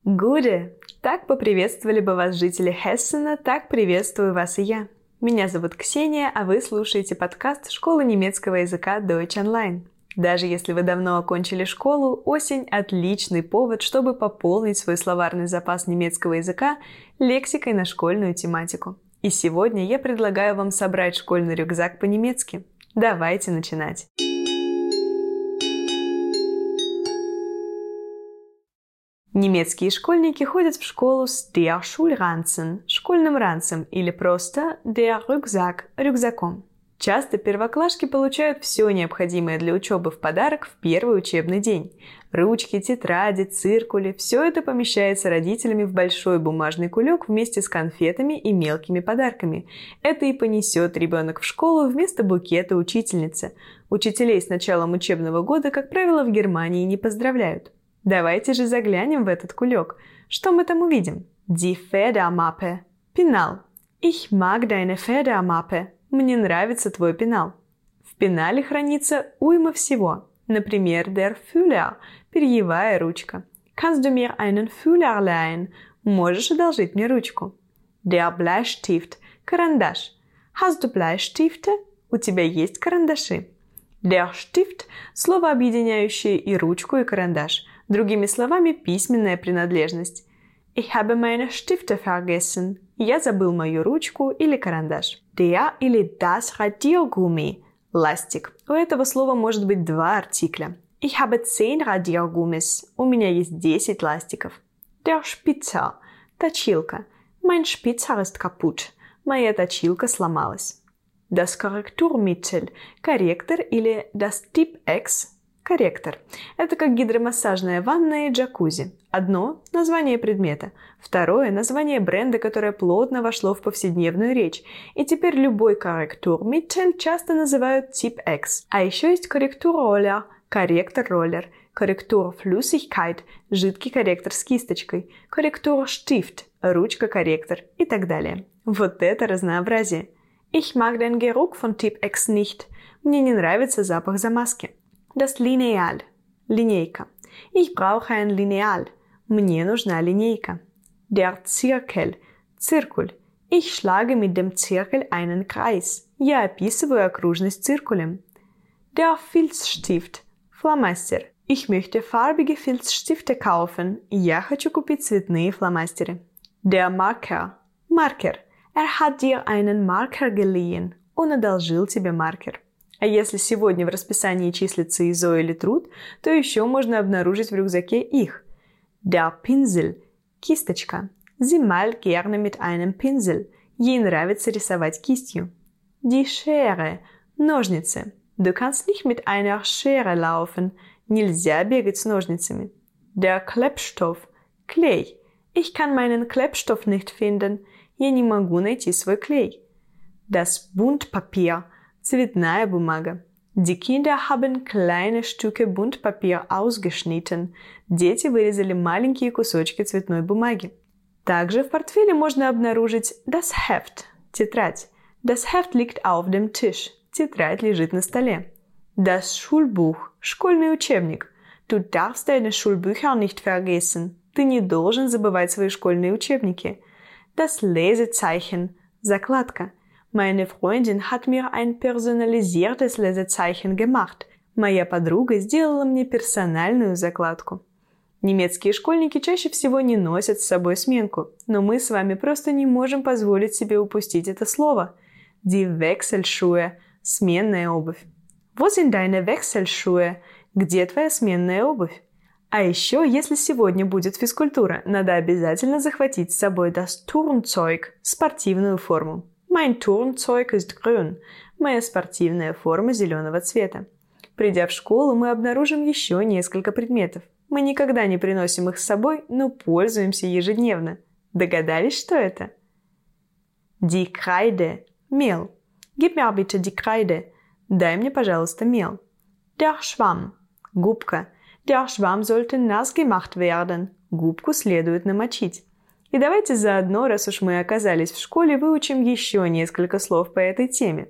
Gute! Так поприветствовали бы вас жители Хессена, так приветствую вас и я. Меня зовут Ксения, а вы слушаете подкаст школы немецкого языка Deutsch Online. Даже если вы давно окончили школу, осень – отличный повод, чтобы пополнить свой словарный запас немецкого языка лексикой на школьную тематику. И сегодня я предлагаю вам собрать школьный рюкзак по-немецки. Давайте начинать! Немецкие школьники ходят в школу с der Schulranzen, школьным ранцем, или просто der Rucksack, рюкзаком. Часто первоклашки получают все необходимое для учебы в подарок в первый учебный день. Ручки, тетради, циркули – все это помещается родителями в большой бумажный кулек вместе с конфетами и мелкими подарками. Это и понесет ребенок в школу вместо букета учительницы. Учителей с началом учебного года, как правило, в Германии не поздравляют. Давайте же заглянем в этот кулек. Что мы там увидим? Die Federmappe. Пенал. Ich mag deine Federmappe. Мне нравится твой пенал. В пенале хранится уйма всего. Например, der Füller. Перьевая ручка. Kannst du mir einen Füller leihen? Можешь одолжить мне ручку. Der Bleistift. Карандаш. Hast du Bleistifte? У тебя есть карандаши. Der Stift – слово, объединяющее и ручку, и карандаш. Другими словами, письменная принадлежность. Ich habe meine Stifte vergessen. Я забыл мою ручку или карандаш. Der или das Radiergummi. Ластик. У этого слова может быть два артикля. Ich habe 10 Radiergummis. У меня есть 10 ластиков. Der Spitzer. Точилка. Mein Spitzer ist kaputt. Моя точилка сломалась. Das Korrekturmittel – корректор или das Tipp-Ex – корректор. Это как гидромассажная ванна и джакузи. Одно – название предмета, второе – название бренда, которое плотно вошло в повседневную речь. И теперь любой Korrekturmittel часто называют Tipp-Ex. А еще есть Korrekturroller – корректор-роллер, Korrekturflüssigkeit – жидкий корректор с кисточкой, Korrekturstift – ручка-корректор и так далее. Вот это разнообразие! Ich mag den Geruch von Tipp-Ex nicht. Мне не нравится запах замазки. Das Lineal. Линейка. Ich brauche ein Lineal. Мне нужна линейка. Der Zirkel. Циркуль. Ich schlage mit dem Zirkel einen Kreis. Я описываю окружность циркулем. Der Filzstift. Фломастер. Ich möchte farbige Filzstifte kaufen. Я хочу купить цветные фломастеры. Der Marker. Маркер. hat dir einen Marker geliehen. Он одолжил тебе маркер. А если сегодня в расписании числится ИЗО или труд, то еще можно обнаружить в рюкзаке их. Der Pinsel – кисточка. Sie malt gerne mit einem Pinsel. Ей нравится рисовать кистью. Die Schere – ножницы. Du kannst nicht mit einer Schere laufen. Нельзя бегать с ножницами. Der Klebstoff – клей. Ich kann meinen Klebstoff nicht finden. Я не могу найти свой клей. Das Buntpapier – цветная бумага. Die Kinder haben kleine Stücke Buntpapier ausgeschnitten. Дети вырезали маленькие кусочки цветной бумаги. Также в портфеле можно обнаружить das Heft – тетрадь. Das Heft liegt auf dem Tisch. Тетрадь лежит на столе. Das Schulbuch – школьный учебник. Du darfst deine Schulbücher nicht vergessen. Ты не должен забывать свои школьные учебники. Das Lesezeichen – закладка. Meine Freundin hat mir ein personalisiertes Lesezeichen gemacht. Моя подруга сделала мне персональную закладку. Немецкие школьники чаще всего не носят с собой сменку, но мы с вами просто не можем позволить себе упустить это слово. Die Wechselschuhe – сменная обувь. Wo sind deine Wechselschuhe? Где твоя сменная обувь? А еще, если сегодня будет физкультура, надо обязательно захватить с собой das Turnzeug – спортивную форму. Mein Turnzeug ist grün. Моя спортивная форма зеленого цвета. Придя в школу, мы обнаружим еще несколько предметов. Мы никогда не приносим их с собой, но пользуемся ежедневно. Догадались, что это? Die Kreide – мел. Gib mir bitte die Kreide. Дай мне, пожалуйста, мел. Der Schwamm – губка. Der Schwamm sollte nass gemacht werden. Губку следует намочить. И давайте заодно, раз уж мы оказались в школе, выучим еще несколько слов по этой теме.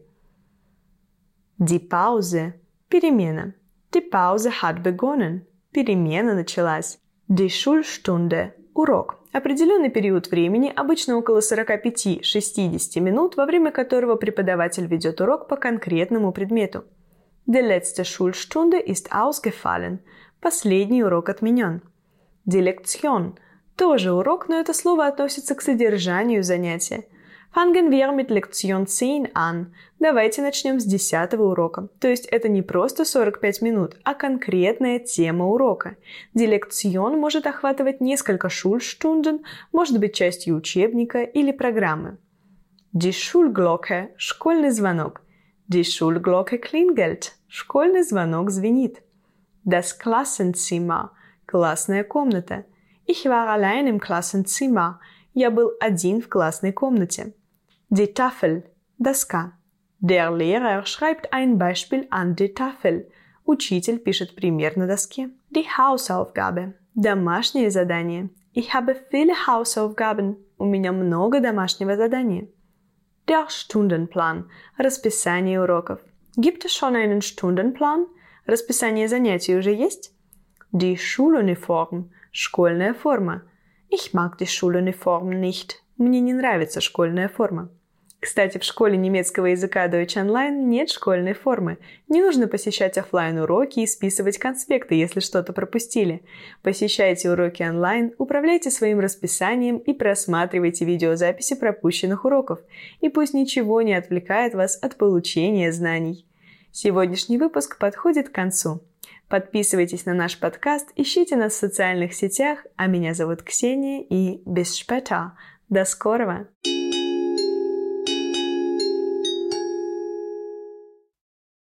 Die Pause – перемена. Die Pause hat begonnen. Перемена началась. Die Schulstunde – Урок – определенный период времени, обычно около 45-60 минут, во время которого преподаватель ведет урок по конкретному предмету. Die letzte Schulstunde ist ausgefallen. Последний урок отменен. Die Lektion – тоже урок, но это слово относится к содержанию занятия. Fangen wir mit Lektion 10 an. Давайте начнем с 10-го урока. То есть это не просто 45 минут, а конкретная тема урока. Die Lektion может охватывать несколько Schulstunden, может быть частью учебника или программы. Die Schulglocke – школьный звонок. Die Schulglocke klingelt – школьный звонок звенит. Das Klassenzimmer – классная комната. Ich war allein im Klassenzimmer. Я был один в классной комнате. Die Tafel – доска. Der Lehrer schreibt ein Beispiel an die Tafel. Учитель пишет пример на доске. Die Hausaufgabe – домашнее задание. Ich habe viele Hausaufgaben. У меня много домашнего задания. Der Stundenplan – расписание уроков. Gibt es schon einen Stundenplan? Расписание занятий уже есть? Die Schuluniform – школьная форма. Ich mag die Schuluniform nicht. Мне не нравится школьная форма. Кстати, в школе немецкого языка Deutsch Online нет школьной формы. Не нужно посещать офлайн-уроки и списывать конспекты, если что-то пропустили. Посещайте уроки онлайн, управляйте своим расписанием и просматривайте видеозаписи пропущенных уроков. И пусть ничего не отвлекает вас от получения знаний. Сегодняшний выпуск подходит к концу. Подписывайтесь на наш подкаст, ищите нас в социальных сетях, а меня зовут Ксения и bis später. До скорого!